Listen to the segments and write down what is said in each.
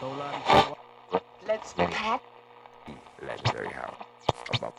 Let's cat. Legendary house. Above.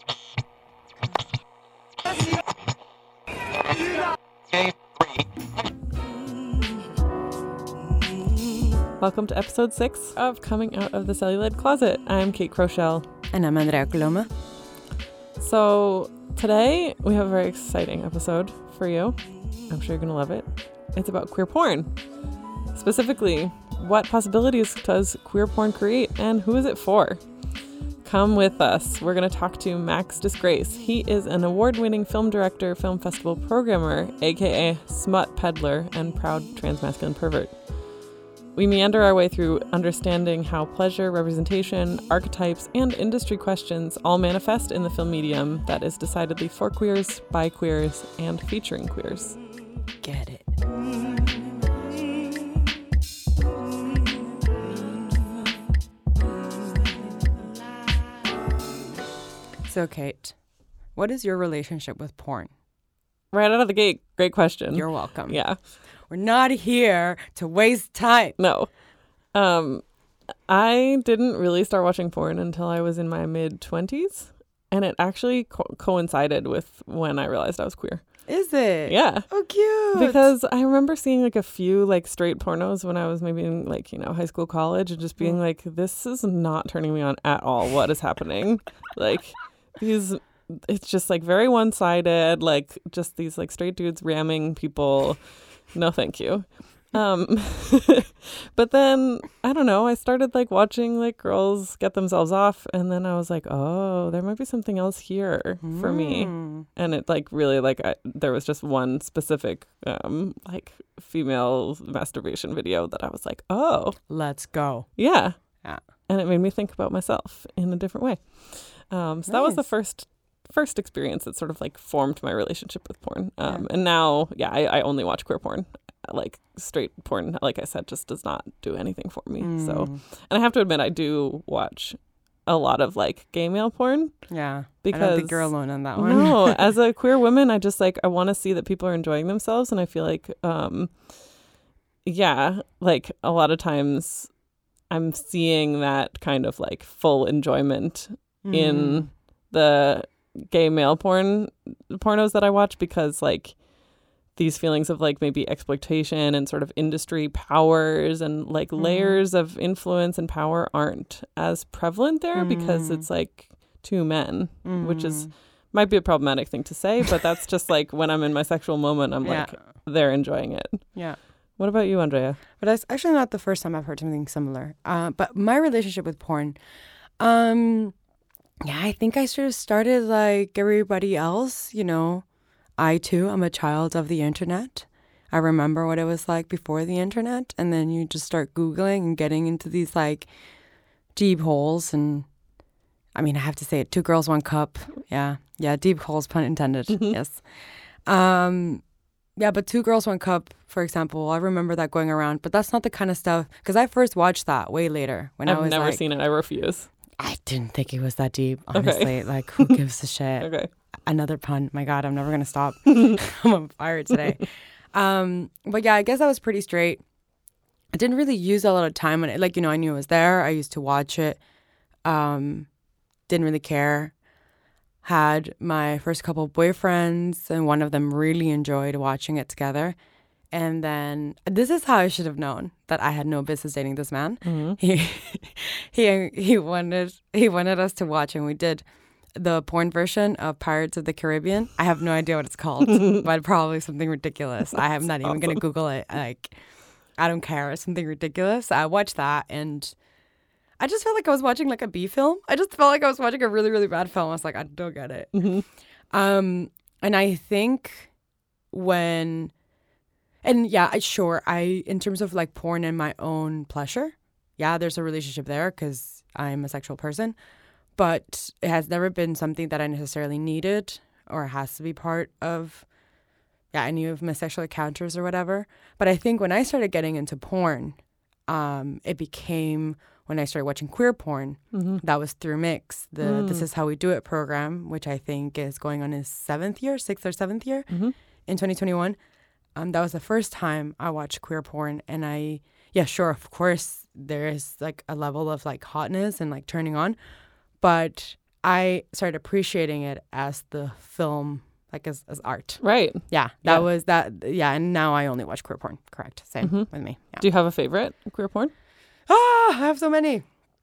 Welcome to episode 6 of Coming Out of the Celluloid Closet. I'm Kate Crochelle. And I'm Andrea Coloma. So today we have a very exciting episode for you. I'm sure you're going to love it. It's about queer porn. Specifically, what possibilities does queer porn create and who is it for? Come with us. We're going to talk to Max Disgrace. He is an award-winning film director, film festival programmer, aka smut peddler, and proud transmasculine pervert. We meander our way through understanding how pleasure, representation, archetypes, and industry questions all manifest in the film medium that is decidedly for queers, by queers, and featuring queers. Get it. So, Kate, what is your relationship with porn? Right out of the gate, great question. You're welcome. Yeah. We're not here to waste time. No. I didn't really start watching porn until I was in my mid-20s, and it actually coincided with when I realized I was queer. Is it? Yeah. Oh, cute. Because I remember seeing like a few like straight pornos when I was maybe in like, high school, college, and just being like, this is not turning me on at all. What is happening? Like it's just like very one-sided, like just these like straight dudes ramming people. No, thank you. But then, I don't know, I started like watching like girls get themselves off, and then I was like, oh, there might be something else here for me. And it like really like there was just one specific like female masturbation video that I was like, oh, let's go. yeah. Yeah. And it made me think about myself in a different way. So that was the first experience that sort of like formed my relationship with porn. And now, I only watch queer porn. Like straight porn, like I said, just does not do anything for me. So, and I have to admit, I do watch a lot of like gay male porn. Yeah. Because I don't think you're alone on that one. No, as a queer woman, I just like, I want to see that people are enjoying themselves. And I feel like, like a lot of times I'm seeing that kind of like full enjoyment in the gay male pornos that I watch, because like these feelings of like maybe exploitation and sort of industry powers and like layers of influence and power aren't as prevalent there because it's like two men, which is might be a problematic thing to say, but that's just like when I'm in my sexual moment, I'm like, they're enjoying it. Yeah. What about you, Andrea? But that's actually not the first time I've heard something similar. But my relationship with porn, I think I sort of started like everybody else, I too am a child of the internet. I remember what it was like before the internet, and then you just start Googling and getting into these like deep holes. And I mean, I have to say it, 2 girls, 1 cup. Yeah, deep holes, pun intended. Yes. But 2 girls, 1 cup, for example, I remember that going around, but that's not the kind of stuff, because I first watched that way later when I was I've never seen it. I refuse. I didn't think it was that deep, honestly. Okay. Like, who gives a shit? Okay. Another pun. My God, I'm never going to stop. I'm on fire today. But yeah, I guess I was pretty straight. I didn't really use a lot of time on it. Like, I knew it was there. I used to watch it. Didn't really care. Had my first couple boyfriends, and one of them really enjoyed watching it together. And then this is how I should have known that I had no business dating this man. He wanted us to watch, and we did the porn version of Pirates of the Caribbean. I have no idea what it's called, but probably something ridiculous. I am not even going to Google it. Like, I don't care. It's something ridiculous. I watched that, and I just felt like I was watching like a B film. I just felt like I was watching a really, really bad film. I was like, I don't get it. And I think in terms of like porn and my own pleasure, there's a relationship there because I'm a sexual person. But it has never been something that I necessarily needed or has to be part of, any of my sexual encounters or whatever. But I think when I started getting into porn, it became when I started watching queer porn. That was through Mix, the This Is How We Do It program, which I think is going on its 6th or 7th year in 2021. That was the first time I watched queer porn. And of course, there is like a level of like hotness and like turning on. But I started appreciating it as the film, like as art. Right. Yeah, that was that. Yeah, and now I only watch queer porn. Correct. Same with me. Yeah. Do you have a favorite queer porn? I have so many.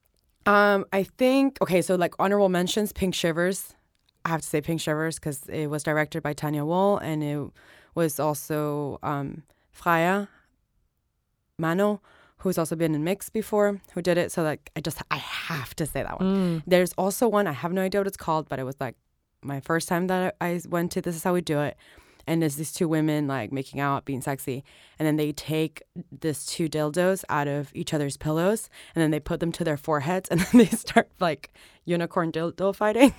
I think, okay, so like honorable mentions, Pink Shivers. I have to say Pink Shivers because it was directed by Tanya Wool, and it was also Freya Mano, who's also been in Mix before, who did it. So like I have to say that one. There's also one, I have no idea what it's called, but it was like my first time that I went to This Is How We Do It. And there's these two women like making out, being sexy. And then they take these two dildos out of each other's pillows and then they put them to their foreheads and then they start like unicorn dildo fighting.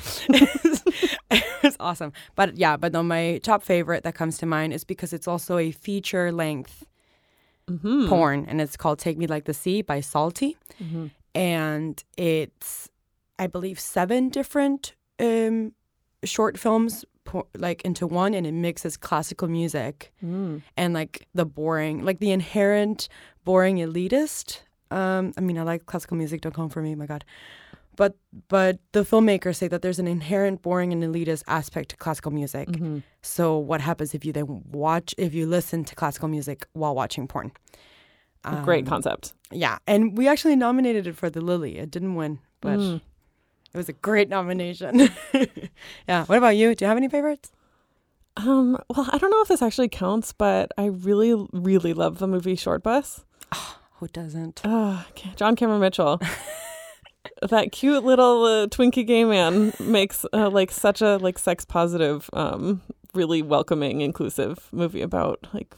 It was awesome. But then my top favorite that comes to mind is because it's also a feature length porn. And it's called Take Me Like the Sea by Salty. And it's, I believe, 7 different short films like into one, and it mixes classical music and like the inherent boring elitist. I mean, I like classical music. Don't come for me, my God. But the filmmakers say that there's an inherent boring and elitist aspect to classical music. So what happens if you listen to classical music while watching porn? Great concept. Yeah, and we actually nominated it for the Lily. It didn't win, but it was a great nomination. Yeah. What about you? Do you have any favorites? Well, I don't know if this actually counts, but I really, really love the movie Short Bus. Oh, who doesn't? John Cameron Mitchell. That cute little Twinkie gay man makes like such a like sex positive, really welcoming, inclusive movie about like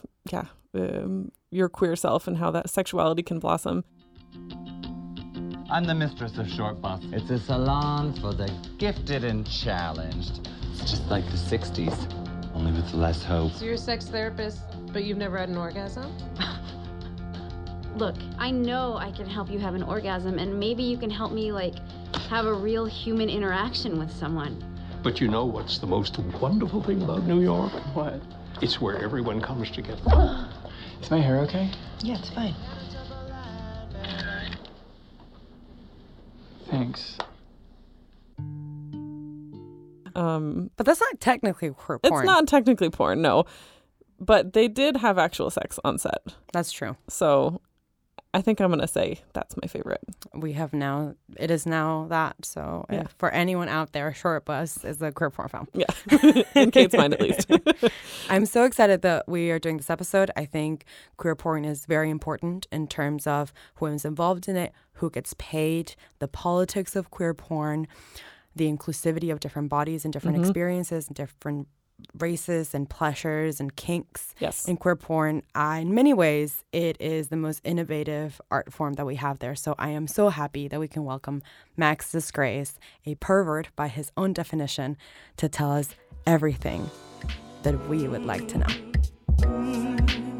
your queer self and how that sexuality can blossom. I'm the mistress of Short Bus. It's a salon for the gifted and challenged. It's just like the 60s, only with less hope. So you're a sex therapist, but you've never had an orgasm? Look, I know I can help you have an orgasm, and maybe you can help me, like, have a real human interaction with someone. But you know what's the most wonderful thing about New York? What? It's where everyone comes together. Is my hair okay? Yeah, it's fine. Thanks. But that's not technically porn. It's not technically porn, no. But they did have actual sex on set. That's true. So I think I'm going to say that's my favorite. It is now that. So for anyone out there, Short Bus is a queer porn film. Yeah, in Kate's mind at least. I'm so excited that we are doing this episode. I think queer porn is very important in terms of who is involved in it, who gets paid, the politics of queer porn, the inclusivity of different bodies and different experiences and different races and pleasures and kinks in queer porn. In many ways, it is the most innovative art form that we have there. So I am so happy that we can welcome Max Disgrace, a pervert by his own definition, to tell us everything that we would like to know.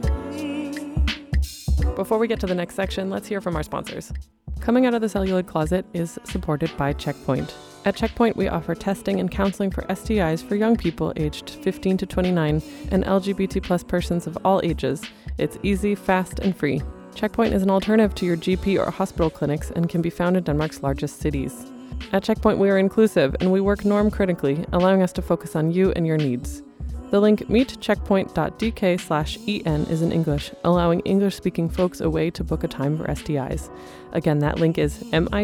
Before we get to the next section, let's hear from our sponsors. Coming Out of the Celluloid Closet is supported by Checkpoint. At Checkpoint, we offer testing and counseling for STIs for young people aged 15 to 29 and LGBT plus persons of all ages. It's easy, fast, and free. Checkpoint is an alternative to your GP or hospital clinics and can be found in Denmark's largest cities. At Checkpoint, we are inclusive and we work norm critically, allowing us to focus on you and your needs. The link meetcheckpoint.dk/en is in English, allowing English-speaking folks a way to book a time for STIs. Again, that link is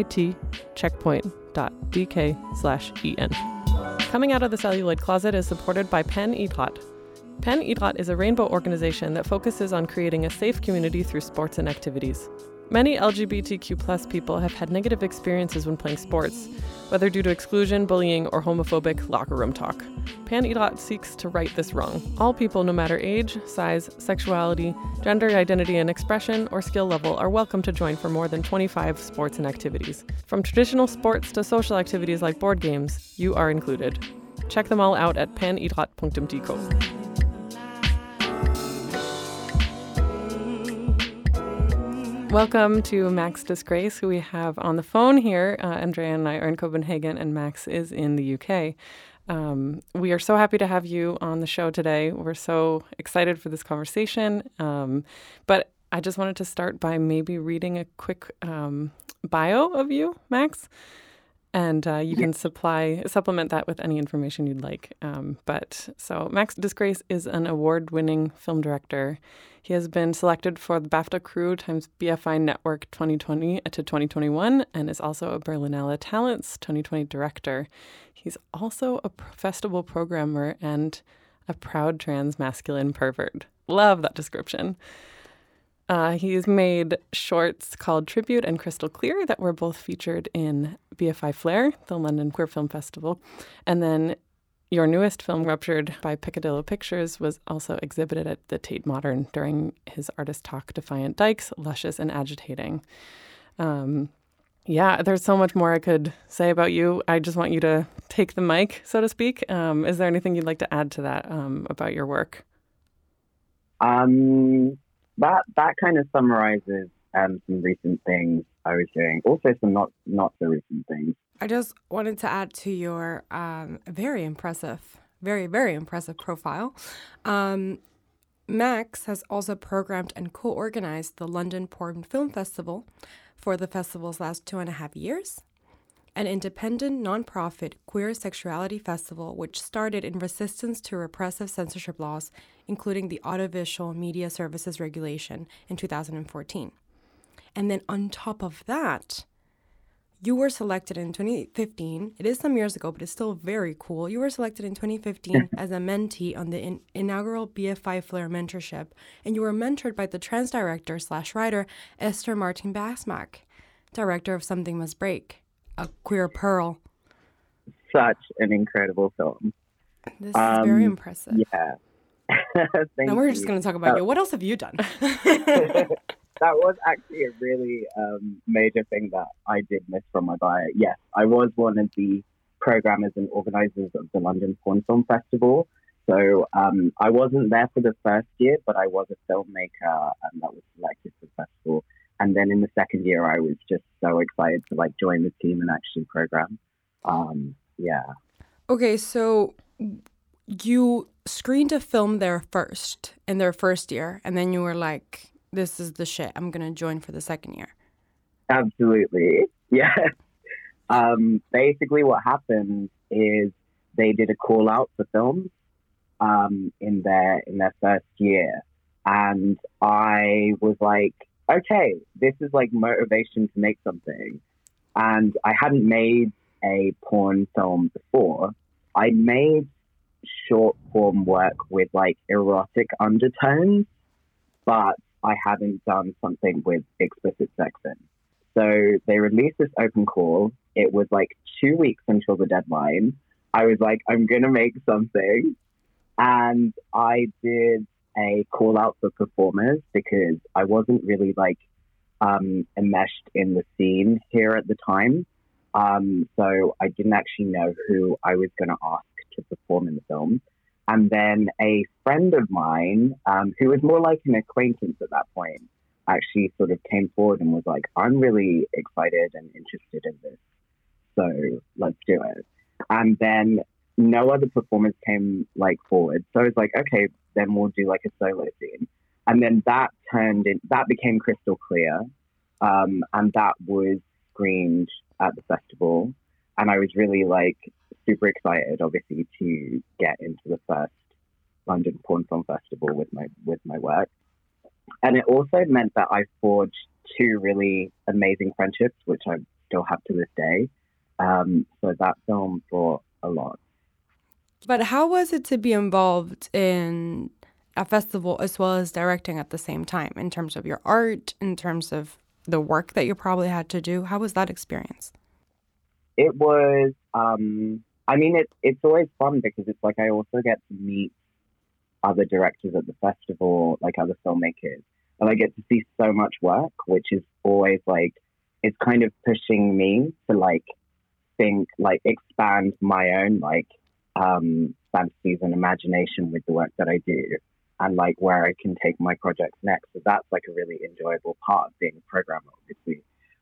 mitcheckpoint.dk/en. Coming Out of the Celluloid Closet is supported by Pen Idrat. Pen Idrat is a rainbow organization that focuses on creating a safe community through sports and activities. Many LGBTQ+ people have had negative experiences when playing sports, whether due to exclusion, bullying, or homophobic locker room talk. Pan Idrat seeks to right this wrong. All people, no matter age, size, sexuality, gender identity and expression, or skill level, are welcome to join for more than 25 sports and activities. From traditional sports to social activities like board games, you are included. Check them all out at panidrat.dk. Welcome to Max Disgrace, who we have on the phone here. Andrea and I are in Copenhagen, and Max is in the UK. We are so happy to have you on the show today. We're so excited for this conversation. But I just wanted to start by maybe reading a quick bio of you, Max. And you can supplement that with any information you'd like. So Max Disgrace is an award-winning film director. He has been selected for the BAFTA Crew times BFI Network 2020 to 2021 and is also a Berlinale Talents 2020 director. He's also a festival programmer and a proud trans masculine pervert. Love that description. He's made shorts called Tribute and Crystal Clear that were both featured in BFI Flare, the London Queer Film Festival. And then your newest film, Ruptured by Picadillo Pictures, was also exhibited at the Tate Modern during his artist talk, Defiant Dykes, Luscious and Agitating. There's so much more I could say about you. I just want you to take the mic, so to speak. Is there anything you'd like to add to that about your work? That kind of summarizes some recent things I was doing. Also some not so recent things. I just wanted to add to your very impressive, very, very impressive profile. Max has also programmed and co-organized the London Porn Film Festival for the festival's last 2.5 years, an independent, non-profit queer sexuality festival which started in resistance to repressive censorship laws, including the Audiovisual Media Services Regulation in 2014. And then on top of that, you were selected in 2015. It is some years ago, but it's still very cool. You were selected in 2015 as a mentee on the inaugural BFI Flare mentorship, and you were mentored by the trans director/writer Esther Martin Basmack, director of Something Must Break, a queer pearl. Such an incredible film. This is very impressive. Yeah. Now we're just going to talk about you. What else have you done? That was actually a really major thing that I did miss from my bio. Yes, I was one of the programmers and organizers of the London Porn Film Festival. So I wasn't there for the first year, but I was a filmmaker that was selected for the festival. And then in the second year, I was just so excited to join the team and actually program. Okay, so you screened a film there first in their first year, and then you were like, this is the shit. I'm going to join for the second year. Absolutely. Yeah. Basically what happened is they did a call out for films in their first year. And I was like, okay, this is motivation to make something. And I hadn't made a porn film before. I made short form work with erotic undertones, but I hadn't done something with explicit sex in. So they released this open call. It was 2 weeks until the deadline. I was like, I'm going to make something. And I did a call out for performers because I wasn't really enmeshed in the scene here at the time. So I didn't actually know who I was going to ask to perform in the film. And then a friend of mine, who was more like an acquaintance at that point, actually sort of came forward and was like, I'm really excited and interested in this. So let's do it. And then no other performers came forward. So I was like, okay, then we'll do a solo scene. And then that became Crystal Clear. And that was screened at the festival. And I was really super excited, obviously, to get into the first London Porn Film Festival with my work. And it also meant that I forged 2 really amazing friendships, which I still have to this day. So that film brought a lot. But how was it to be involved in a festival as well as directing at the same time, in terms of your art, in terms of the work that you probably had to do? How was that experience? It was, it's always fun because it's I also get to meet other directors at the festival, other filmmakers. And I get to see so much work, which is always it's kind of pushing me to think, expand my own fantasies and imagination with the work that I do and where I can take my projects next. So that's a really enjoyable part of being a programmer, obviously.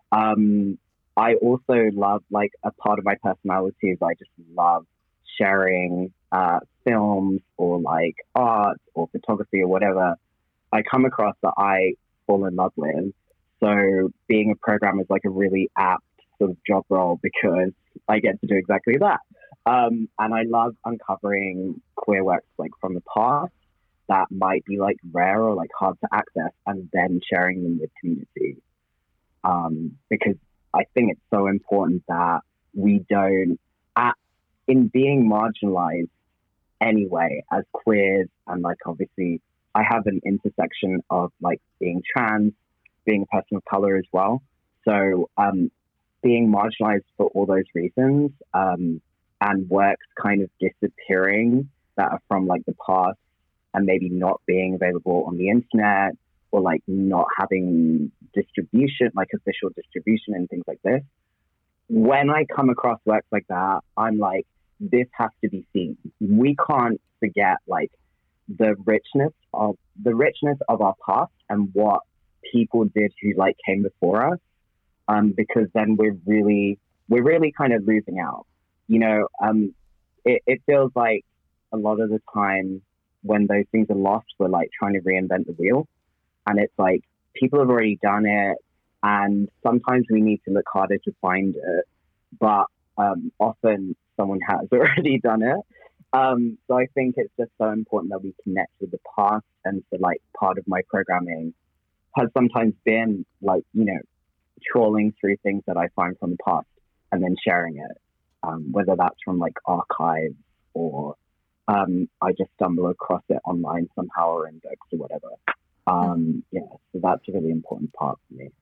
I also love, a part of my personality is I just love sharing films or art or photography or whatever I come across that I fall in love with. So being a programmer is like a really apt sort of job role because I get to do exactly that. And I love uncovering queer works like from the past that might be like rare or like hard to access, and then sharing them with community. Because I think it's so important that we don't, in being marginalized anyway as queers, and like obviously I have an intersection of like being trans, being a person of color as well. So being marginalized for all those reasons, and works kind of disappearing that are from like the past and maybe not being available on the internet, or like not having distribution, like official distribution and things like this. When I come across works like that, I'm like, this has to be seen. We can't forget like the richness of our past and what people did who like came before us, because then we're really kind of losing out. You know, it feels like a lot of the time when those things are lost, we're like trying to reinvent the wheel, and it's like people have already done it, and sometimes we need to look harder to find it, but often someone has already done it. So I think it's just so important that we connect with the past, and so like part of my programming has sometimes been like, you know, trawling through things that I find from the past and then sharing it, whether that's from like archives or I just stumble across it online somehow or in books or whatever. Yeah, so that's a really important part for me.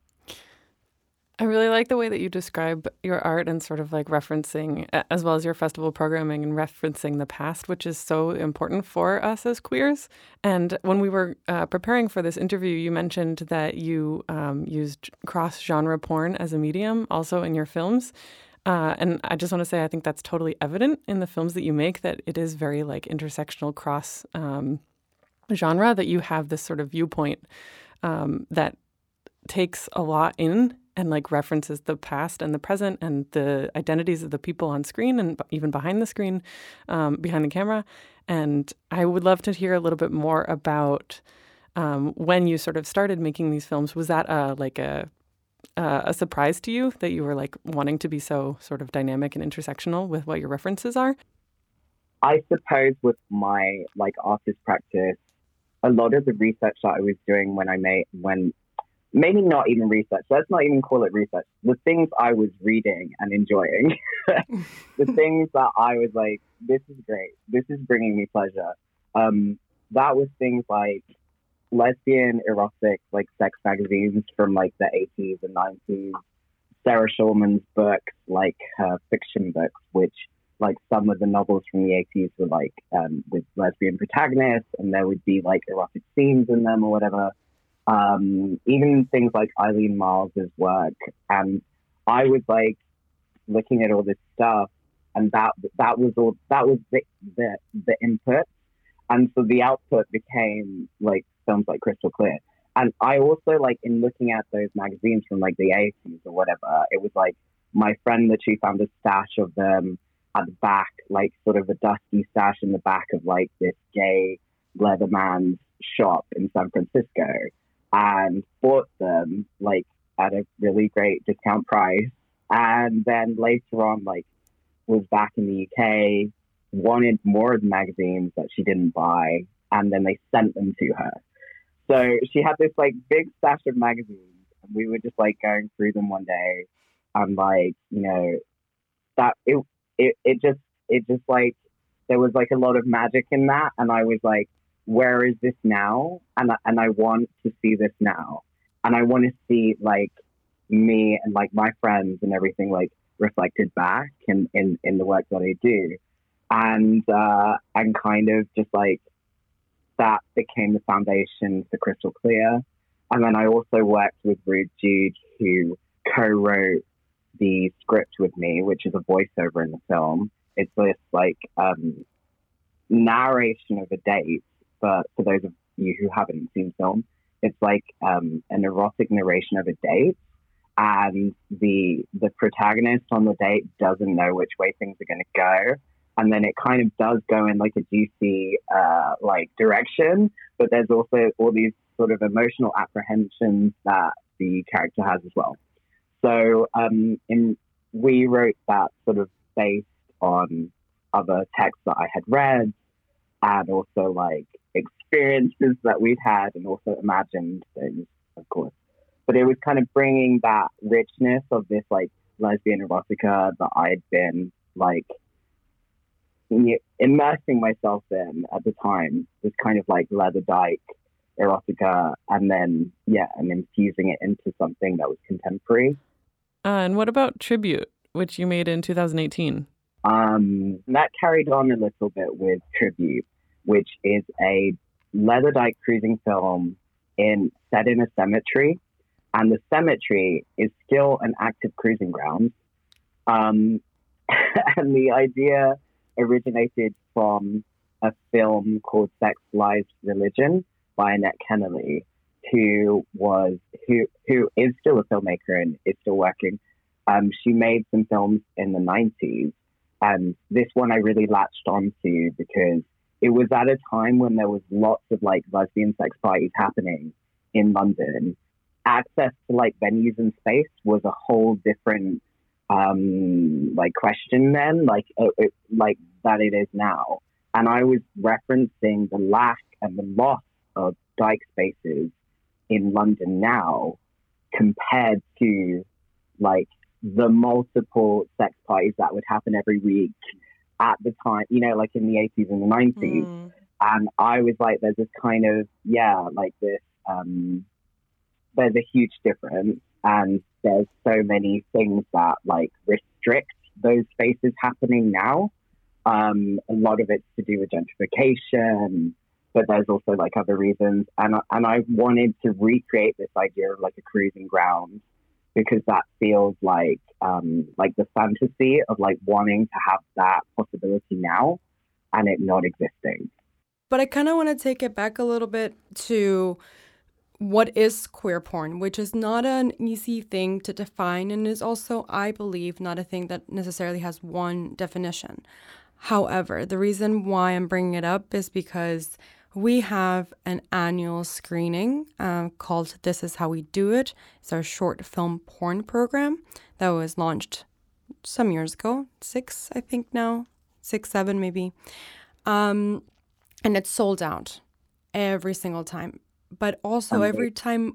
I really like the way that you describe your art and sort of like referencing, as well as your festival programming, and referencing the past, which is so important for us as queers. And when we were preparing for this interview, you mentioned that you used cross-genre porn as a medium also in your films. And I just want to say, I think that's totally evident in the films that you make, that it is very like intersectional cross genre, that you have this sort of viewpoint that takes a lot in and like references the past and the present and the identities of the people on screen and even behind the screen, behind the camera. And I would love to hear a little bit more about when you sort of started making these films. Was that a surprise to you that you were like wanting to be so sort of dynamic and intersectional with what your references are? I suppose with my like artist practice, a lot of the research that I was doing maybe not even research, let's not even call it research, the things I was reading and enjoying, the things that I was like, this is great, this is bringing me pleasure. That was things like lesbian, erotic, like sex magazines from like the 80s and 90s, Sarah Schulman's books, like her fiction books, which like some of the novels from the 80s were like with lesbian protagonists, and there would be like erotic scenes in them or whatever. Even things like Eileen Miles's work, and I was like looking at all this stuff, and that was the input, and so the output became like films like Crystal Clear. And I also like, in looking at those magazines from like the 80s or whatever, it was like my friend literally found a stash of them at the back, like sort of a dusty stash in the back of like this gay Leatherman's shop in San Francisco, and bought them like at a really great discount price. And then later on, like, was back in the UK, wanted more of the magazines that she didn't buy, and then they sent them to her. So she had this like big stash of magazines, and we were just like going through them one day, and like, you know, that it just like, there was like a lot of magic in that, and I was like, where is this now? And I want to see this now. And I want to see like me and like my friends and everything like reflected back in the work that I do. And kind of just like that became the foundation for Crystal Clear. And then I also worked with Rude Jude, who co-wrote the script with me, which is a voiceover in the film. It's this like narration of a date. But for those of you who haven't seen film, it's like an erotic narration of a date, and the protagonist on the date doesn't know which way things are going to go, and then it kind of does go in like a juicy like direction, but there's also all these sort of emotional apprehensions that the character has as well. So we wrote that sort of based on other texts that I had read and also like experiences that we'd had and also imagined things, of course. But it was kind of bringing that richness of this like lesbian erotica that I'd been like immersing myself in at the time, was kind of like Leatherdyke erotica, and then infusing it into something that was contemporary. And what about Tribute, which you made in 2018? That carried on a little bit with Tribute, which is a Leatherdyke cruising film set in a cemetery, and the cemetery is still an active cruising ground. And the idea originated from a film called Sex, Lies, Religion by Annette Kennelly, who is still a filmmaker and is still working. She made some films in the 90s, and this one I really latched onto because it was at a time when there was lots of like lesbian sex parties happening in London. Access to like venues and space was a whole different question then, like that it is now. And I was referencing the lack and the loss of dyke spaces in London now compared to like the multiple sex parties that would happen every week at the time, like in the 80s and the 90s. And I was like, there's this kind of, there's a huge difference, and there's so many things that like restrict those spaces happening now. A lot of it's to do with gentrification, but there's also like other reasons. And I wanted to recreate this idea of like a cruising ground, because that feels like the fantasy of like wanting to have that possibility now and it not existing. But I kind of want to take it back a little bit to what is queer porn, which is not an easy thing to define and is also, I believe, not a thing that necessarily has one definition. However, the reason why I'm bringing it up is because we have an annual screening called This Is How We Do It. It's our short film porn program that was launched some years ago, 6, I think now, 6, 7 maybe. And it's sold out every single time. But also every time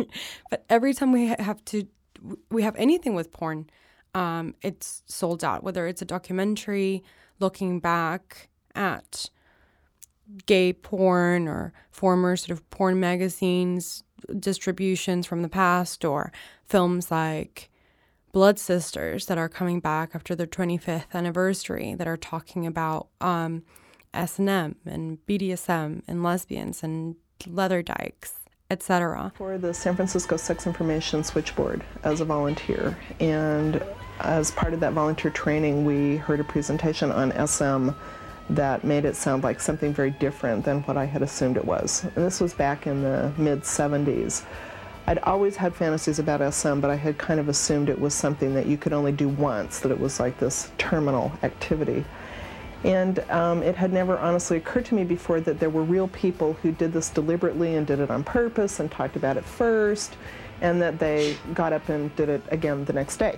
we have anything with porn, it's sold out, whether it's a documentary looking back at gay porn or former sort of porn magazines, distributions from the past, or films like Blood Sisters that are coming back after their 25th anniversary that are talking about S&M and BDSM and lesbians and Leatherdykes, etc. For the San Francisco Sex Information Switchboard as a volunteer, and as part of that volunteer training we heard a presentation on SM that made it sound like something very different than what I had assumed it was. And this was back in the mid-70s. I'd always had fantasies about SM, but I had kind of assumed it was something that you could only do once, that it was like this terminal activity. And it had never honestly occurred to me before that there were real people who did this deliberately and did it on purpose and talked about it first, and that they got up and did it again the next day.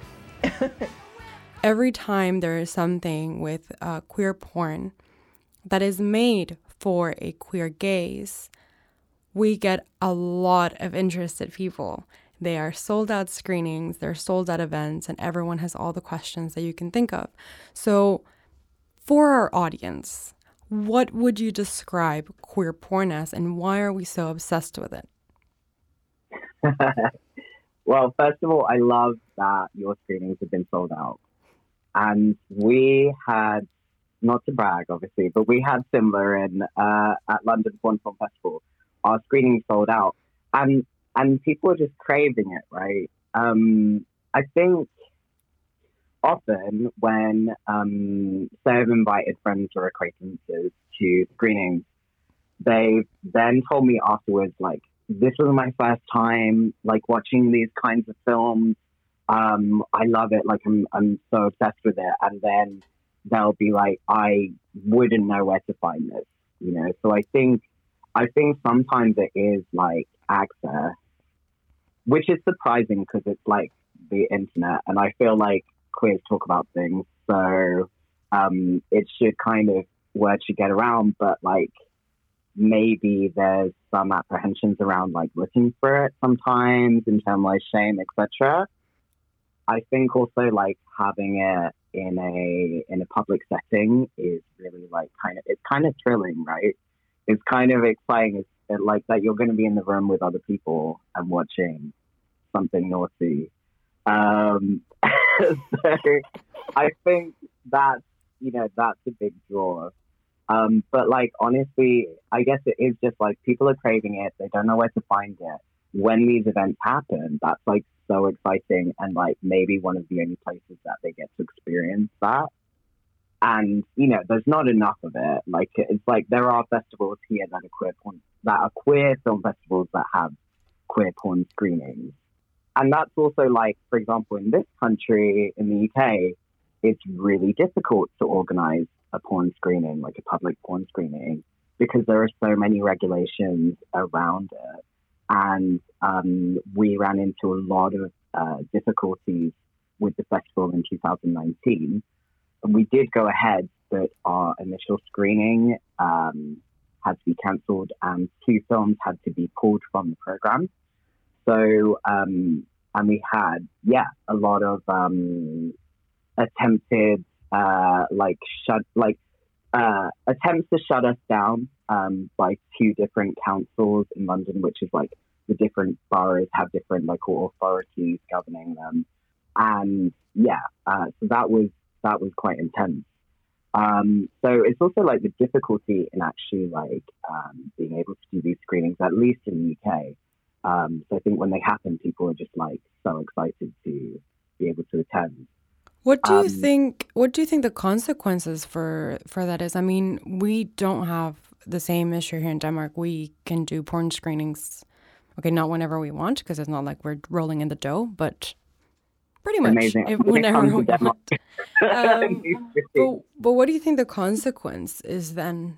Every time there is something with queer porn that is made for a queer gaze, we get a lot of interested people. They are sold out screenings, they're sold out events, and everyone has all the questions that you can think of. So for our audience, what would you describe queer porn as, and why are we so obsessed with it? Well, first of all, I love that your screenings have been sold out. And we had, not to brag, obviously, but we had similar at London Porn Film Festival. Our screenings sold out. And people are just craving it, right? I think often when, say I've invited friends or acquaintances to screenings, they've then told me afterwards, like, this was my first time, like, watching these kinds of films. I love it. Like, I'm so obsessed with it. And then they'll be like, I wouldn't know where to find this, So I think sometimes it is like access, which is surprising because it's like the internet, and I feel like queers talk about things, so it should kind of, word should get around, but like maybe there's some apprehensions around like looking for it sometimes, internalized shame, etc. I think also like having it in a public setting is really like it's kind of thrilling, right? It's kind of exciting. It's like that you're going to be in the room with other people and watching something naughty. So I think that's a big draw. But like, honestly, I guess it is just like people are craving it. They don't know where to find it. When these events happen, that's like so exciting, and like maybe one of the only places that they get to experience that. And, there's not enough of it. Like, it's like there are festivals here that are queer film festivals that have queer porn screenings. And that's also like, for example, in this country, in the UK, it's really difficult to organize a porn screening, like a public porn screening, because there are so many regulations around it. And we ran into a lot of difficulties with the festival in 2019. And we did go ahead, but our initial screening had to be cancelled, and 2 films had to be pulled from the program. So, and we had, a lot of attempted attempts to shut us down by 2 different councils in London, which is like the different boroughs have different local authorities governing them. And so that was quite intense. So it's also like the difficulty in actually like being able to do these screenings, at least in the UK. So I think when they happen, people are just like so excited to be able to attend. What do you think? What do you think the consequences for that is? I mean, we don't have the same issue here in Denmark. We can do porn screenings, okay, not whenever we want, because it's not like we're rolling in the dough, but pretty much whenever we want. But what do you think the consequence is then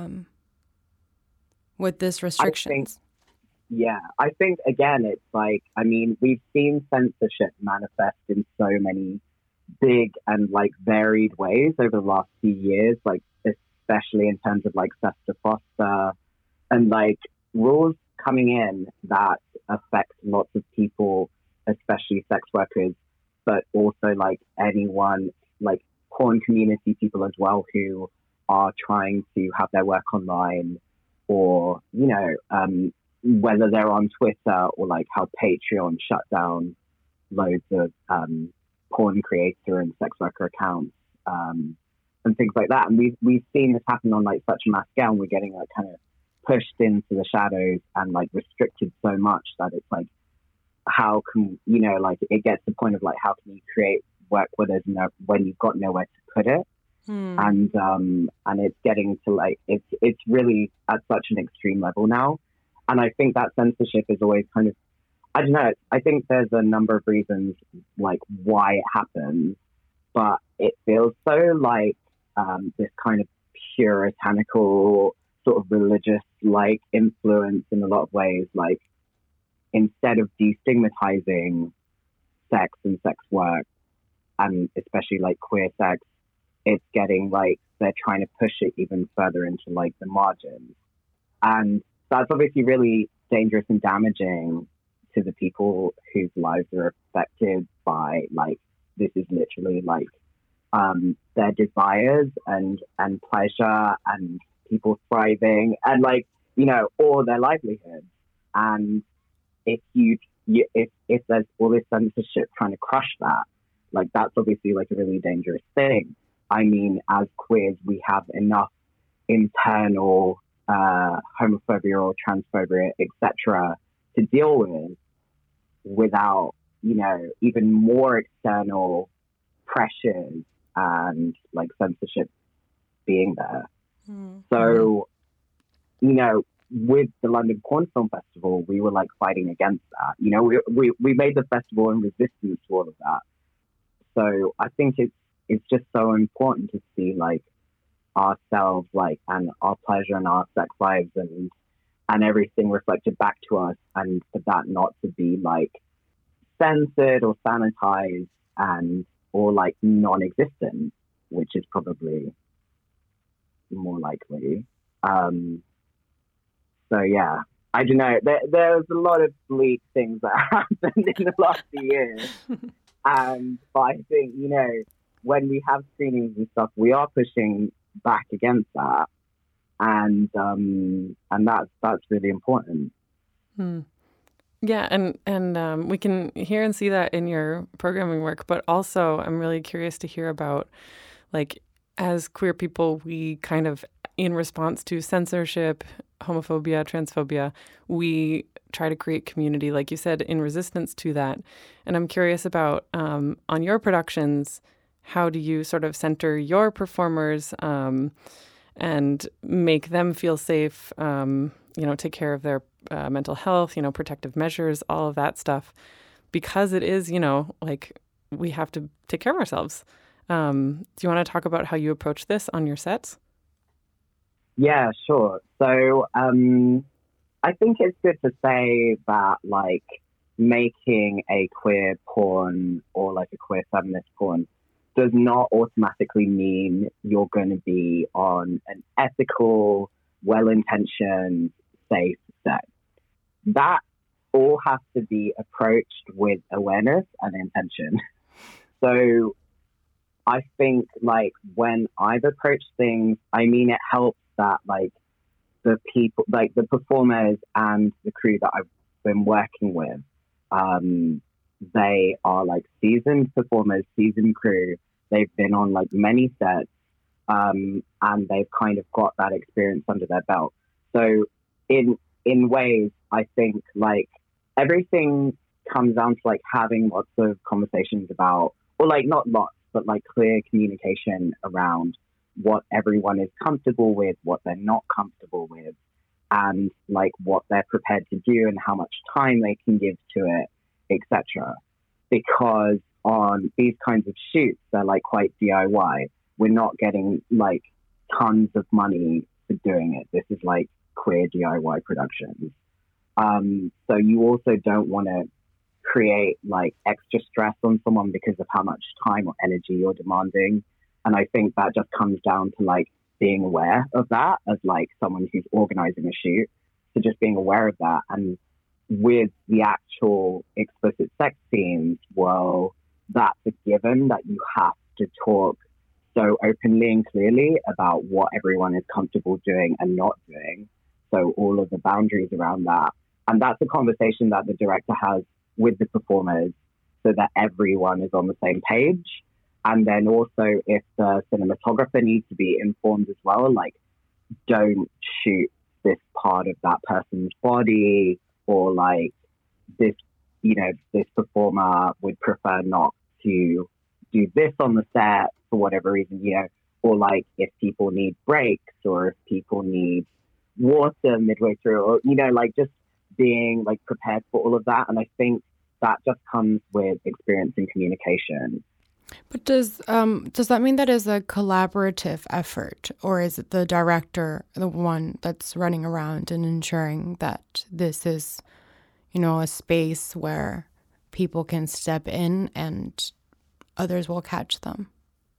with this restrictions? I think again, it's like, I mean, we've seen censorship manifest in so many big and like varied ways over the last few years, like especially in terms of like SESTA FOSTA and like rules coming in that affect lots of people, especially sex workers, but also like anyone, like porn community people as well, who are trying to have their work online, or whether they're on Twitter, or like how Patreon shut down loads of porn creator and sex worker accounts and things like that. And we've seen this happen on like such a mass scale, and we're getting like kind of pushed into the shadows and like restricted so much that it's like, how can like it gets to the point of like, how can you create work where when you've got nowhere to put it? And it's getting to like, it's really at such an extreme level now. And I think that censorship is always kind of, I don't know, I think there's a number of reasons like why it happens, but it feels so like this kind of puritanical sort of religious like influence in a lot of ways. Like, instead of destigmatizing sex and sex work, and especially like queer sex, it's getting like they're trying to push it even further into like the margins. And that's obviously really dangerous and damaging to the people whose lives are affected by like, this is literally like their desires and pleasure and people thriving and like, all their livelihoods. And if there's all this censorship trying to crush that, like that's obviously like a really dangerous thing. I mean, as queers, we have enough internal homophobia or transphobia, etc., to deal with without, even more external pressures and like censorship being there. So, with the London Porn Film Festival, we were like fighting against that. We made the festival in resistance to all of that. So I think it's just so important to see like ourselves, like, and our pleasure and our sex lives and and everything reflected back to us, and for that not to be like censored or sanitized or like non-existent, which is probably more likely. So yeah, I don't know. There's a lot of bleak things that happened in the last few years, but I think, you know, when we have screenings and stuff, we are pushing back against that, and that's really important. Yeah, and we can hear and see that in your programming work, but also I'm really curious to hear about, like, as queer people, we kind of, in response to censorship, homophobia, transphobia, we try to create community, like you said, in resistance to that. And I'm curious about, on your productions, how do you sort of center your performers and make them feel safe, take care of their mental health, protective measures, all of that stuff, because it is, like, we have to take care of ourselves. Do you want to talk about how you approach this on your sets? Yeah, sure. So I think it's good to say that, like, making a queer porn or like a queer feminist porn does not automatically mean you're going to be on an ethical, well-intentioned, safe set. That all has to be approached with awareness and intention. So I think, like, when I've approached things, I mean, it helps that, like, the people, like the performers and the crew that I've been working with, they are like seasoned performers, seasoned crew. They've been on like many sets, and they've kind of got that experience under their belt. So in ways, I think, like, everything comes down to like having lots of conversations about, or like not lots, but like clear communication around what everyone is comfortable with, what they're not comfortable with, and like what they're prepared to do and how much time they can give to it, etc. Because on these kinds of shoots, they're like quite DIY. We're not getting like tons of money for doing it. This is like queer DIY productions. So you also don't want to create like extra stress on someone because of how much time or energy you're demanding. And I think that just comes down to like being aware of that as like someone who's organizing a shoot. So just being aware of that. And with the actual explicit sex scenes, well, that's a given that you have to talk so openly and clearly about what everyone is comfortable doing and not doing. So all of the boundaries around that. And that's a conversation that the director has with the performers so that everyone is on the same page. And then also if the cinematographer needs to be informed as well, like, don't shoot this part of that person's body, or like this, this performer would prefer not to do this on the set for whatever reason, or like if people need breaks or if people need water midway through, or, like just being like prepared for all of that. And I think that just comes with experience in communication. But does that mean that is a collaborative effort, or is it the director, the one that's running around and ensuring that this is, a space where people can step in and others will catch them?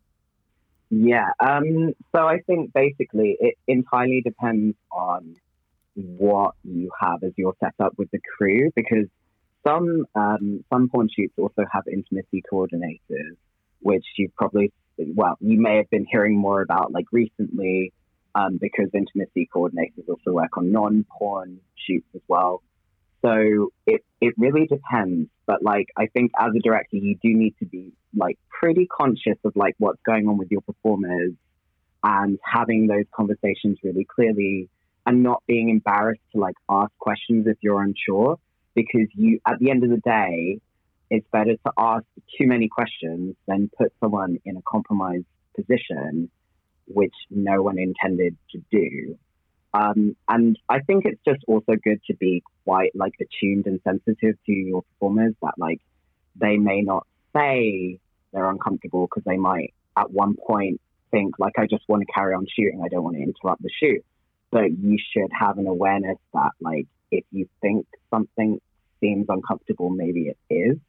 Yeah. So I think basically it entirely depends on what you have as your setup with the crew, because some porn shoots also have intimacy coordinators, which you may have been hearing more about like recently, because intimacy coordinators also work on non-porn shoots as well. So it really depends. But like, I think as a director, you do need to be like pretty conscious of like what's going on with your performers and having those conversations really clearly and not being embarrassed to like ask questions if you're unsure, because at the end of the day, it's better to ask too many questions than put someone in a compromised position, which no one intended to do. And I think it's just also good to be quite like attuned and sensitive to your performers, that like they may not say they're uncomfortable because they might at one point think like, I just want to carry on shooting. I don't want to interrupt the shoot. but you should have an awareness that, like, if you think something seems uncomfortable, maybe it is.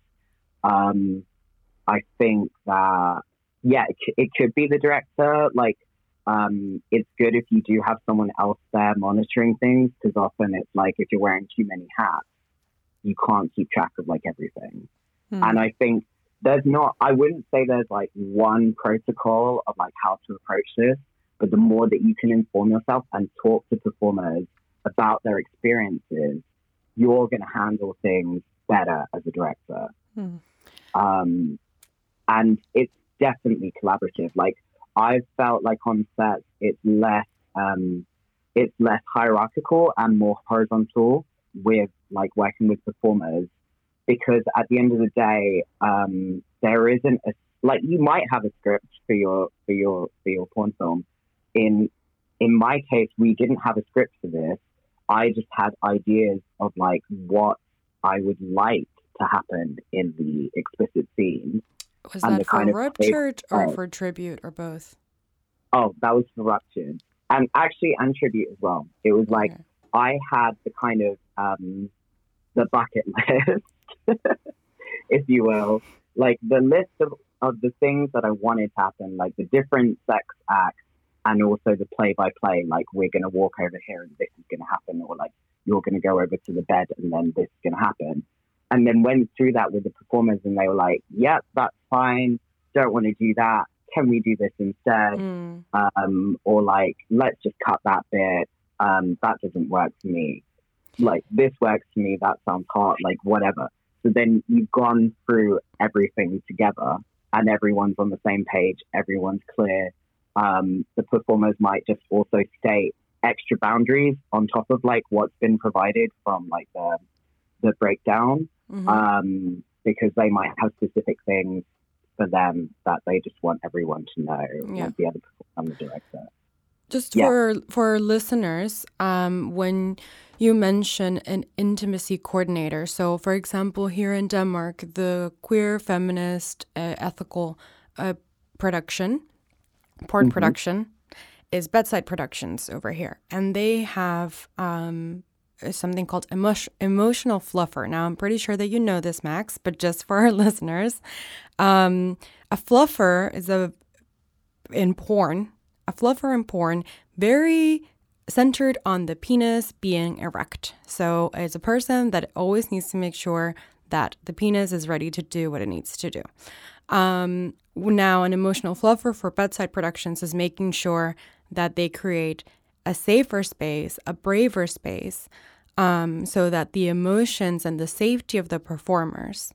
I think that, yeah, it could be the director. Like, it's good if you do have someone else there monitoring things, because often it's like if you're wearing too many hats, you can't keep track of like everything. And I think I wouldn't say there's like one protocol of like how to approach this, but the more that you can inform yourself and talk to performers about their experiences, you're going to handle things better as a director. And it's definitely collaborative. Like, I've felt like on sets, it's less hierarchical and more horizontal with like working with performers, because at the end of the day, there isn't like, you might have a script for your porn film. In my case, we didn't have a script for this. I just had ideas of like what I would like to happen in the explicit scenes. Was that for Ruptured or for Tribute or both? Oh, that was for Ruptured. And actually, and Tribute as well. It was like, I had the kind of, the bucket list, if you will. Like, the list of the things that I wanted to happen, like the different sex acts, and also the play-by-play, like, we're going to walk over here and this is going to happen, or like, you're going to go over to the bed and then this is going to happen. And then went through that with the performers and they were like, yep, that's fine. Don't want to do that. Can we do this instead? Or like, let's just cut that bit. That doesn't work for me. Like, this works for me. That sounds hot, like whatever. So then you've gone through everything together and everyone's on the same page. Everyone's clear. The performers might just also state extra boundaries on top of like what's been provided from like the breakdown. Because they might have specific things for them that they just want everyone to know, like the other performer and the director. Just for listeners, when you mention an intimacy coordinator, so for example, here in Denmark, the queer, feminist, ethical production, porn production, is Bedside Productions over here. And they have something called emotional fluffer. Now, I'm pretty sure that you know this, Max, but just for our listeners, a fluffer is in porn, very centered on the penis being erect. So it's a person that always needs to make sure that the penis is ready to do what it needs to do. Now, an emotional fluffer for Bedside Productions is making sure that they create a safer space, a braver space, so that the emotions and the safety of the performers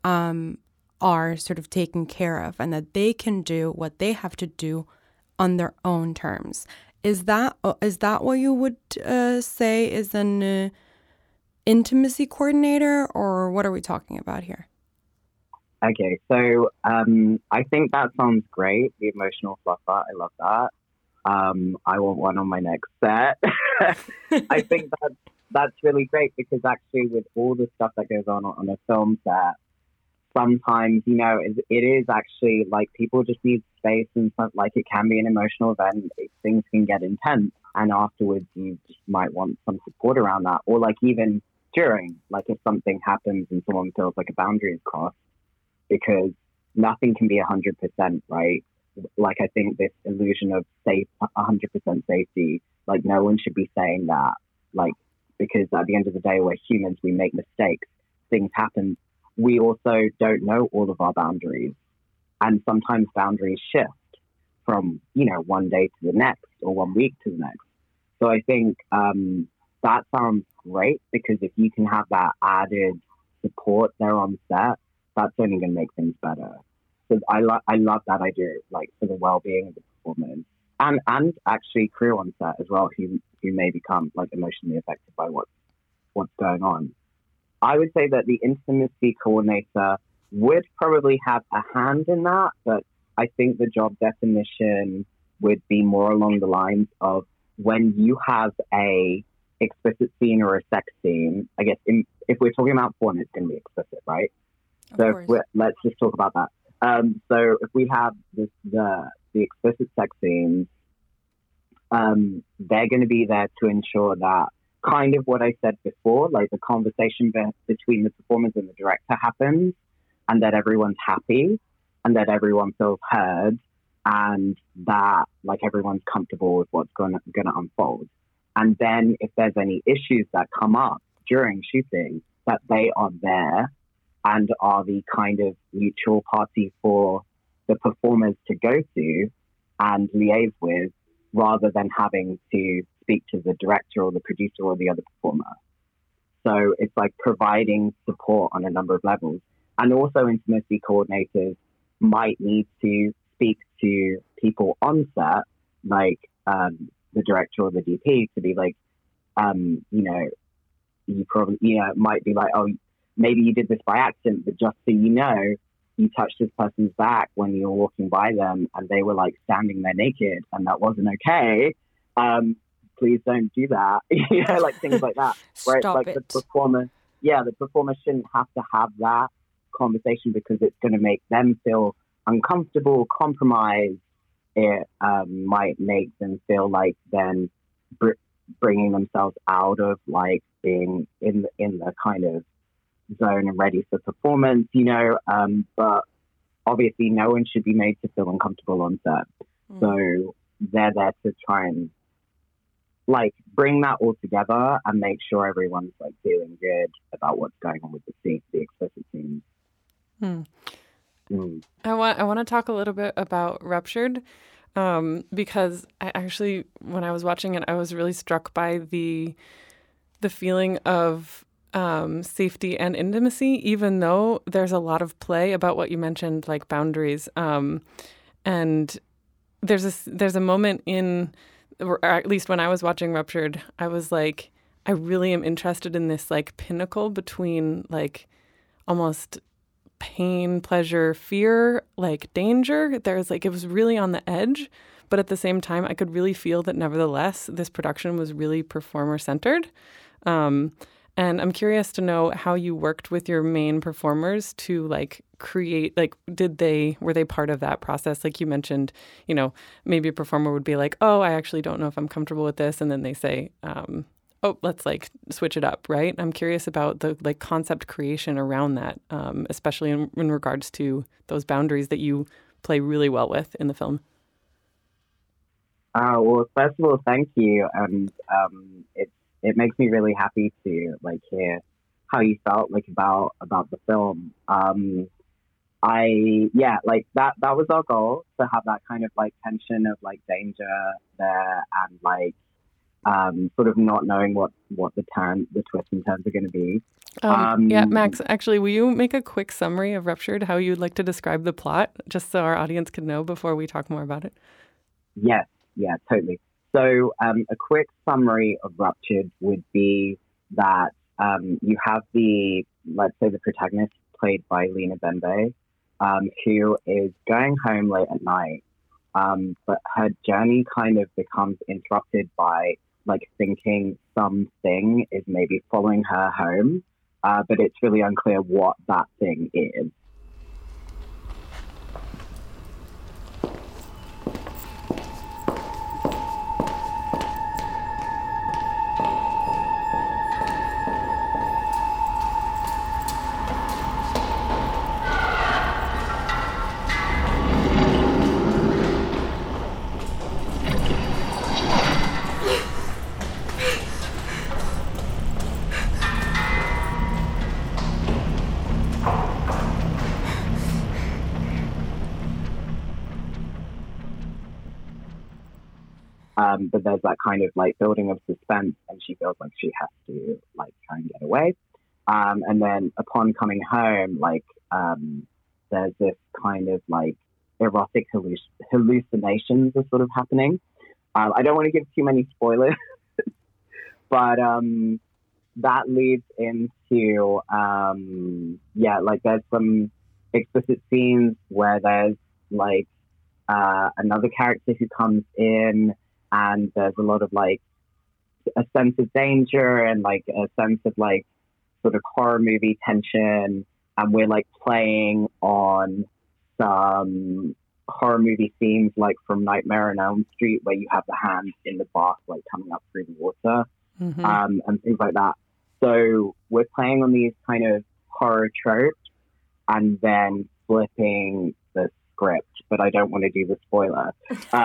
are sort of taken care of, and that they can do what they have to do on their own terms. Is that what you would say is an intimacy coordinator, or what are we talking about here? Okay, so I think that sounds great. The emotional fluffer, I love that. I want one on my next set. I think that's really great, because actually with all the stuff that goes on a film set, sometimes, you know, it is actually like people just need space, and stuff. Like, it can be an emotional event. Things can get intense, and afterwards you just might want some support around that. Or like even during, like if something happens and someone feels like a boundary is crossed, because nothing can be 100%, right? Like, I think this illusion of 100% safety, like no one should be saying that, like, because at the end of the day, we're humans, we make mistakes, things happen. We also don't know all of our boundaries. And sometimes boundaries shift from, you know, one day to the next or 1 week to the next. So I think that sounds great, because if you can have that added support there on set, that's only going to make things better. So I love that idea, like, for the well-being of the performers and actually crew on set as well, who may become like emotionally affected by what's going on. I would say that the intimacy coordinator would probably have a hand in that, but I think the job definition would be more along the lines of when you have a explicit scene or a sex scene. I guess if we're talking about porn, it's going to be explicit, right? So let's just talk about that. So if we have the explicit sex scenes, they're going to be there to ensure that kind of what I said before, like the conversation between the performers and the director happens, and that everyone's happy and that everyone feels heard, and that like everyone's comfortable with what's going to unfold. And then if there's any issues that come up during shooting, that they are there and are the kind of neutral party for the performers to go to and liaise with, rather than having to speak to the director or the producer or the other performer. So it's like providing support on a number of levels. And also intimacy coordinators might need to speak to people on set, like the director or the DP, to be like, you probably, it might be like, oh, maybe you did this by accident, but just so you know, you touched this person's back when you were walking by them and they were like standing there naked and that wasn't okay. Please don't do that. Like things like that. Where it's like the performer shouldn't have to have that conversation because it's going to make them feel uncomfortable, compromised. It might make them feel like then bringing themselves out of like being in the kind of zone and ready for performance, but obviously no one should be made to feel uncomfortable on set. So they're there to try and like bring that all together and make sure everyone's like feeling good about what's going on with the explicit scenes. I want to talk a little bit about Ruptured, because I actually, when I was watching it, I was really struck by the feeling of safety and intimacy, even though there's a lot of play about what you mentioned, like boundaries. And there's a moment or at least when I was watching Ruptured, I was like, I really am interested in this like pinnacle between like almost pain, pleasure, fear, like danger. There's like, it was really on the edge, but at the same time, I could really feel that nevertheless, this production was really performer centered. And I'm curious to know how you worked with your main performers to like create, like, were they part of that process? Like you mentioned, maybe a performer would be like, oh, I actually don't know if I'm comfortable with this. And then they say, oh, let's like switch it up, right? I'm curious about the like concept creation around that, especially in regards to those boundaries that you play really well with in the film. Well, first of all, thank you. And it makes me really happy to like hear how you felt like about the film. That was our goal, to have that kind of like tension of like danger there and like sort of not knowing what the twists and turns are going to be. Max, actually, will you make a quick summary of Ruptured, how you'd like to describe the plot, just so our audience can know before we talk more about it? Yes, yeah, totally. So a quick summary of Ruptured would be that you have let's say the protagonist, played by Lena Bembe, who is going home late at night, but her journey kind of becomes interrupted by like thinking something is maybe following her home, but it's really unclear what that thing is. But there's that kind of like building of suspense, and she feels like she has to like try and get away. And then upon coming home, like there's this kind of like erotic hallucinations are sort of happening. I don't want to give too many spoilers, but that leads into like there's some explicit scenes where there's like another character who comes in. And there's a lot of like a sense of danger and like a sense of like sort of horror movie tension. And we're like playing on some horror movie scenes like from Nightmare on Elm Street, where you have the hand in the bath like coming up through the water, and things like that. So we're playing on these kind of horror tropes and then flipping the script, but I don't want to do the spoiler.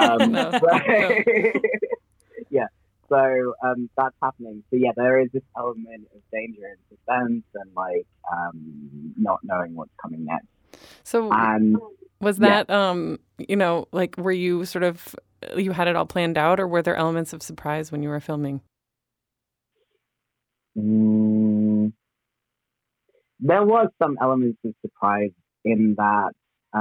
Yeah, so that's happening. So yeah, there is this element of danger and suspense and like not knowing what's coming next. So was that, like, were you sort of, you had it all planned out, or were there elements of surprise when you were filming? There was some elements of surprise in that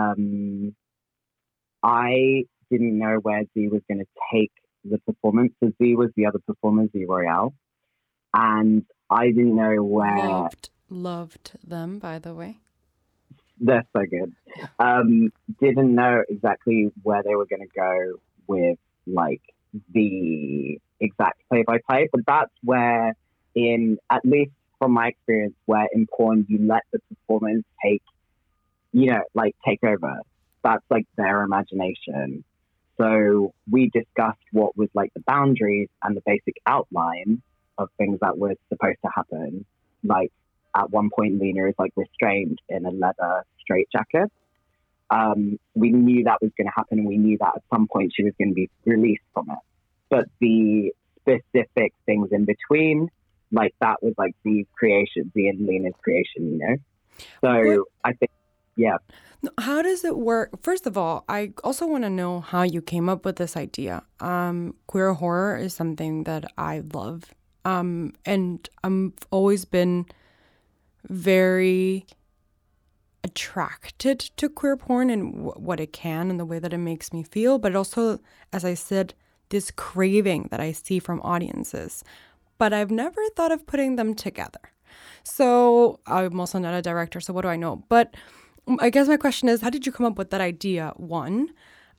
I didn't know where Z was going to take the performance. So Z was the other performer, Z Royale, and I didn't know where. Loved them, by the way. They're so good. Didn't know exactly where they were going to go with like the exact play-by-play, but that's where, at least from my experience, where in porn you let the performance take over. That's like their imagination. So we discussed what was like the boundaries and the basic outline of things that were supposed to happen. Like at one point, Lena is like restrained in a leather straitjacket. We knew that was going to happen, and we knew that at some point she was going to be released from it. But the specific things in between, like that was like Z's creation, Z and Lena's creation, So I think, yeah. How does it work? First of all, I also want to know how you came up with this idea. Queer horror is something that I love. And I've always been very attracted to queer porn and what it can and the way that it makes me feel. But also, as I said, this craving that I see from audiences. But I've never thought of putting them together. So I'm also not a director, so what do I know? But I guess my question is, how did you come up with that idea? 1.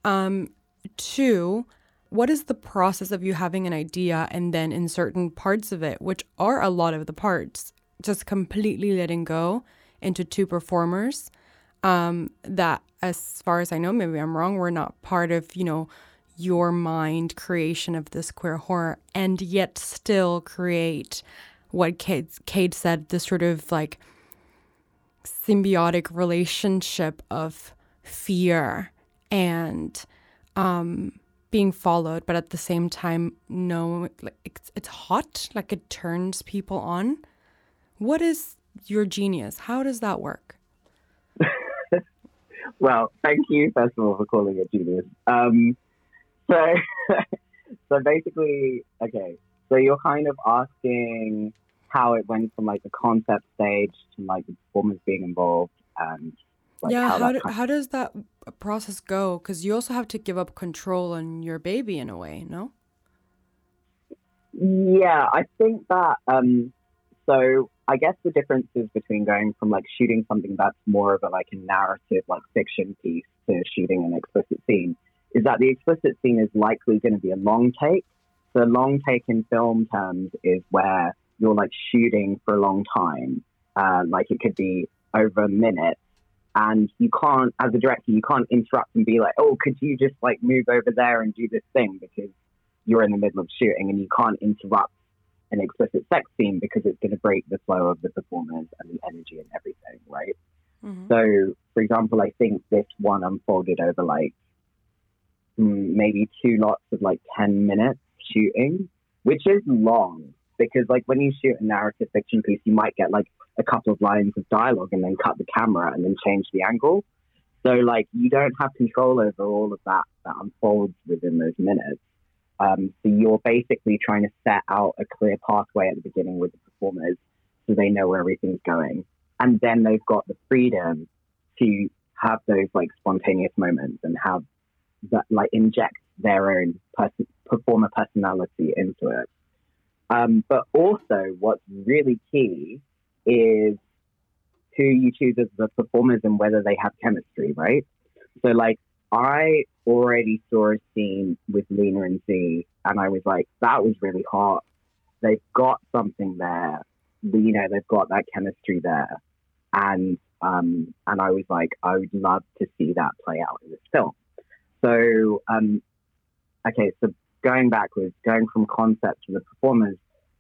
2, what is the process of you having an idea and then in certain parts of it, which are a lot of the parts, just completely letting go into 2 performers that, as far as I know, maybe I'm wrong, were not part of, your mind creation of this queer horror, and yet still create what Kate said, this sort of like symbiotic relationship of fear and being followed, but at the same time, no, like it's hot, like it turns people on. What is your genius? How does that work? Well, thank you, first of all, for calling it genius. So basically, okay, so you're kind of asking how it went from like the concept stage to like the performers being involved and like how does that process go? Because you also have to give up control on your baby in a way, no? Yeah, I think that so I guess the differences between going from like shooting something that's more of a like a narrative, like fiction piece, to shooting an explicit scene is that the explicit scene is likely going to be a long take. So a long take in film terms is where you're like shooting for a long time. Like it could be over a minute, and you can't, as a director, you can't interrupt and be like, oh, could you just like move over there and do this thing, because you're in the middle of shooting, and you can't interrupt an explicit sex scene because it's going to break the flow of the performance and the energy and everything, right? Mm-hmm. So, for example, I think this one unfolded over like maybe 2 lots of like 10 minutes shooting, which is long, because like when you shoot a narrative fiction piece, you might get like a couple of lines of dialogue and then cut the camera and then change the angle. So like you don't have control over all of that unfolds within those minutes. So you're basically trying to set out a clear pathway at the beginning with the performers so they know where everything's going. And then they've got the freedom to have those like spontaneous moments and have that, like, inject their own performer personality into it. But also what's really key is who you choose as the performers and whether they have chemistry, right? So like I already saw a scene with Lena and Z, and I was like, that was really hot. They've got something there. They've got that chemistry there. And I was like, I would love to see that play out in this film. So, okay, so going backwards, going from concept to the performers,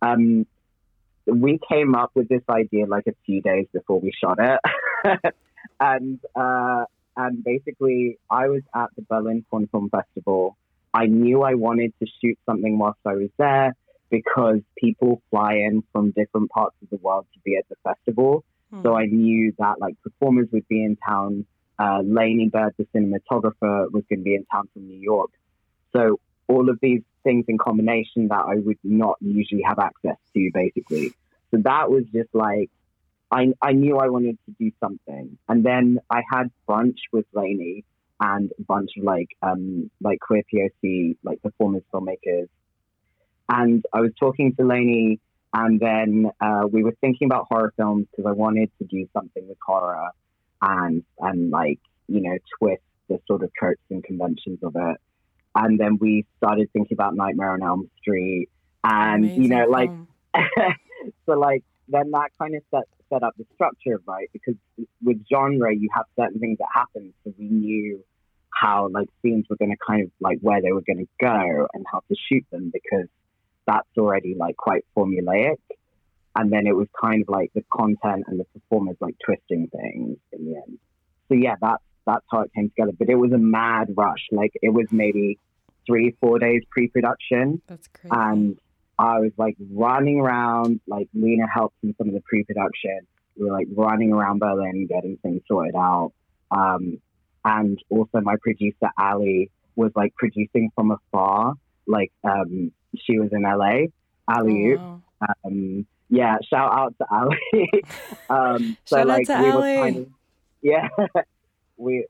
we came up with this idea like a few days before we shot it. and basically, I was at the Berlin Porn Film Festival. I knew I wanted to shoot something whilst I was there because people fly in from different parts of the world to be at the festival. So I knew that like performers would be in town. Lainey Bird, the cinematographer, was going to be in town from New York. So all of these things in combination that I would not usually have access to, basically. So that was just like, I knew I wanted to do something. And then I had brunch with Lainey and a bunch of like queer POC, like performers, filmmakers. And I was talking to Lainey, and then we were thinking about horror films because I wanted to do something with horror and like, you know, twist the sort of tropes and conventions of it. And then we started thinking about Nightmare on Elm Street, and Amazing you know, like, film. so like then that kind of set up the structure, right? Because with genre, you have certain things that happen, so we knew how like scenes were going to kind of like where they were going to go and how to shoot them, because that's already like quite formulaic. And then it was kind of like the content and the performers like twisting things in the end. So yeah, that's how it came together. But it was a mad rush. Like it was maybe 3-4 days pre-production. That's crazy. And I was like running around, like Lena helped in some of the pre-production. We were like running around Berlin, getting things sorted out. And also my producer, Ali, was like producing from afar. Like she was in LA, Ali. Oh, wow. Yeah, shout out to Ali. So Shout like out to we Ali. were kind of, yeah, we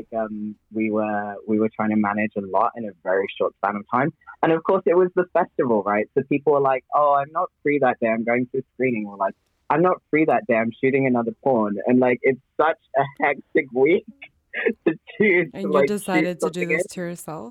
were trying to manage a lot in a very short span of time. And of course it was the festival, right? So people were like, oh, I'm not free that day, I'm going to a screening. Or like, I'm not free that day, I'm shooting another porn. And like, it's such a hectic week to choose. And you like, decided shoot to do this something to yourself?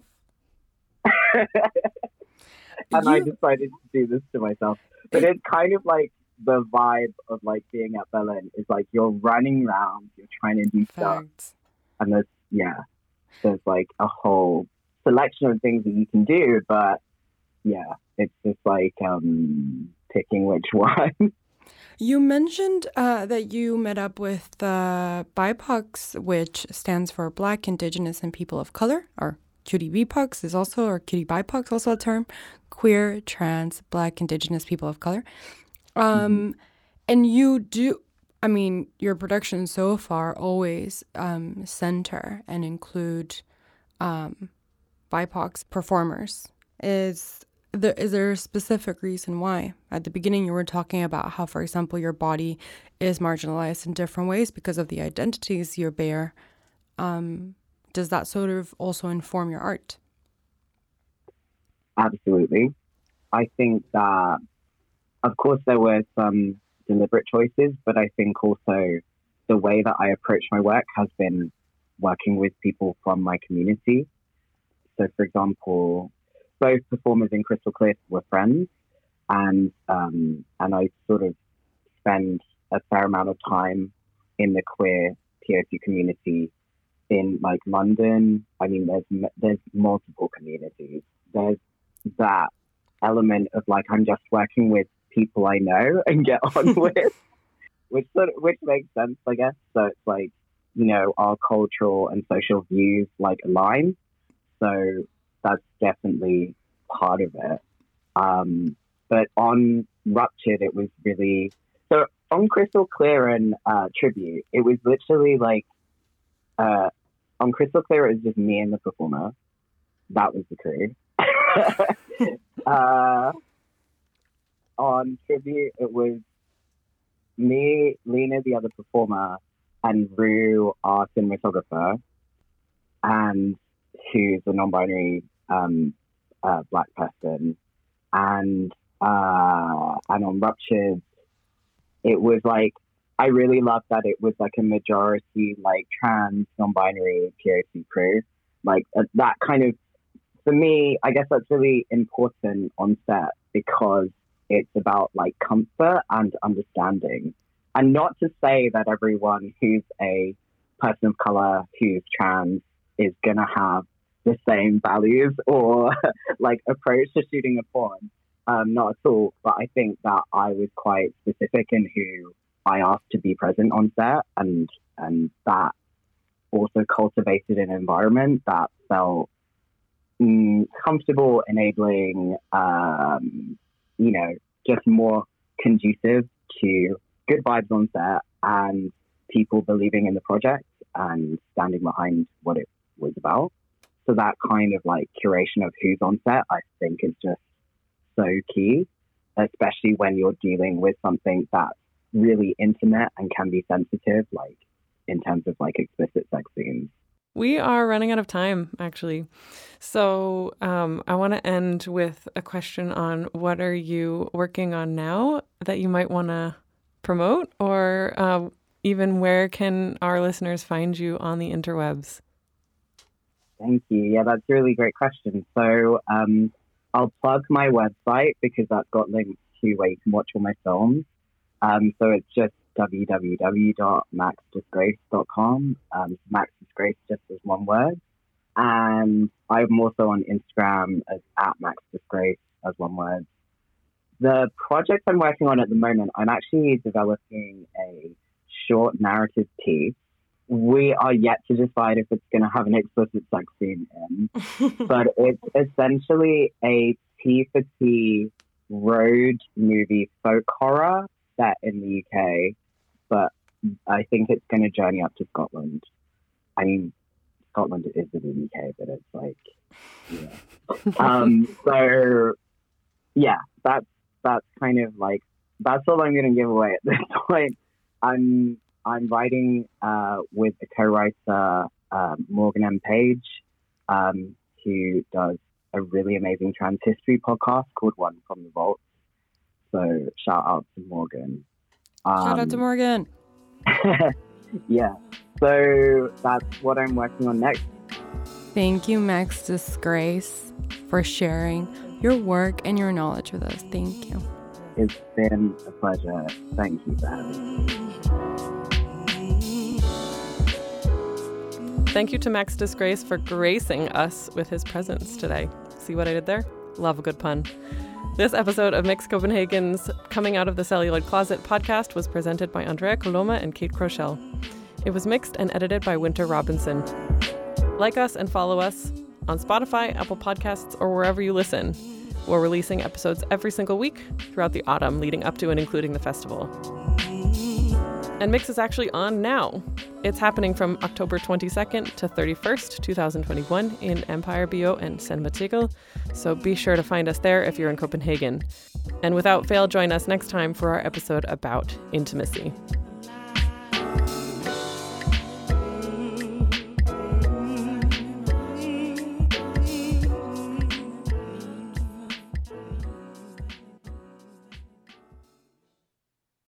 and I decided to do this to myself. But it's kind of like the vibe of like being at Berlin is like you're running around, you're trying to do stuff, and there's like a whole selection of things that you can do, but yeah, it's just like picking which one. You mentioned that you met up with BIPOCs, which stands for Black, Indigenous, and People of Color, or QT BIPOCs is also, or QT BIPOCs also a term, queer, trans, Black, Indigenous, People of Color. And you do, I mean, your productions so far always center and include BIPOC performers. Is there a specific reason why? At the beginning, you were talking about how, for example, your body is marginalized in different ways because of the identities you bear. Does that sort of also inform your art? Absolutely. I think that, of course, there were some deliberate choices, but I think also the way that I approach my work has been working with people from my community. So, for example, both performers in Crystal Clear were friends, and I sort of spend a fair amount of time in the queer POC community in like London. I mean, there's multiple communities. There's that element of like I'm just working with people I know and get on with, which makes sense, I guess. So it's like, you know, our cultural and social views like align. So that's definitely part of it. But on Ruptured, it was really, so on Crystal Clear and Tribute, it was literally like, on Crystal Clear, it was just me and the performer. That was the crew. On Tribute, it was me, Lena, the other performer, and Rue, our cinematographer, and who's a non-binary Black person. And on Ruptured, it was like, I really loved that it was like a majority like trans, non-binary POC crew. Like that kind of, for me, I guess that's really important on set because it's about like comfort and understanding. And not to say that everyone who's a person of color, who's trans, is going to have the same values or like approach to shooting a porn. Not at all. But I think that I was quite specific in who I asked to be present on set, and that also cultivated an environment that felt comfortable, enabling, just more conducive to good vibes on set and people believing in the project and standing behind what it was about. So that kind of like curation of who's on set, I think is just so key, especially when you're dealing with something that's really intimate and can be sensitive, like in terms of like explicit sex scenes. We are running out of time, actually. So I want to end with a question on what are you working on now that you might want to promote, or even where can our listeners find you on the interwebs? Thank you. Yeah, that's a really great question. So I'll plug my website because that's got links to where you can watch all my films. So it's just www.maxdisgrace.com. Max Disgrace just as one word. And I'm also on Instagram as @MaxDisgrace as one word. The project I'm working on at the moment, I'm actually developing a short narrative piece. We are yet to decide if it's going to have an explicit sex scene in, but it's essentially a T for T road movie folk horror set in the UK, but I think it's going to journey up to Scotland. I mean, Scotland is in the UK, but it's like, yeah. So yeah, that's kind of like, that's all I'm going to give away at this point. I'm writing with a co-writer, Morgan M. Page, who does a really amazing trans history podcast called One from the Vault. So shout out to Morgan. Shout out to Morgan. Yeah. So that's what I'm working on next. Thank you, Max Disgrace, for sharing your work and your knowledge with us. Thank you. It's been a pleasure. Thank you for having me. Thank you to Max Disgrace for gracing us with his presence today. See what I did there? Love a good pun. This episode of Mix Copenhagen's Coming Out of the Celluloid Closet podcast was presented by Andrea Coloma and Kate Crochelle. It was mixed and edited by Winter Robinson. Like us and follow us on Spotify, Apple Podcasts, or wherever you listen. We're releasing episodes every single week throughout the autumn leading up to and including the festival. And Mix is actually on now. It's happening from October 22nd to 31st, 2021 in Empire Bio and Cinematikkel, so be sure to find us there if you're in Copenhagen. And without fail, join us next time for our episode about intimacy.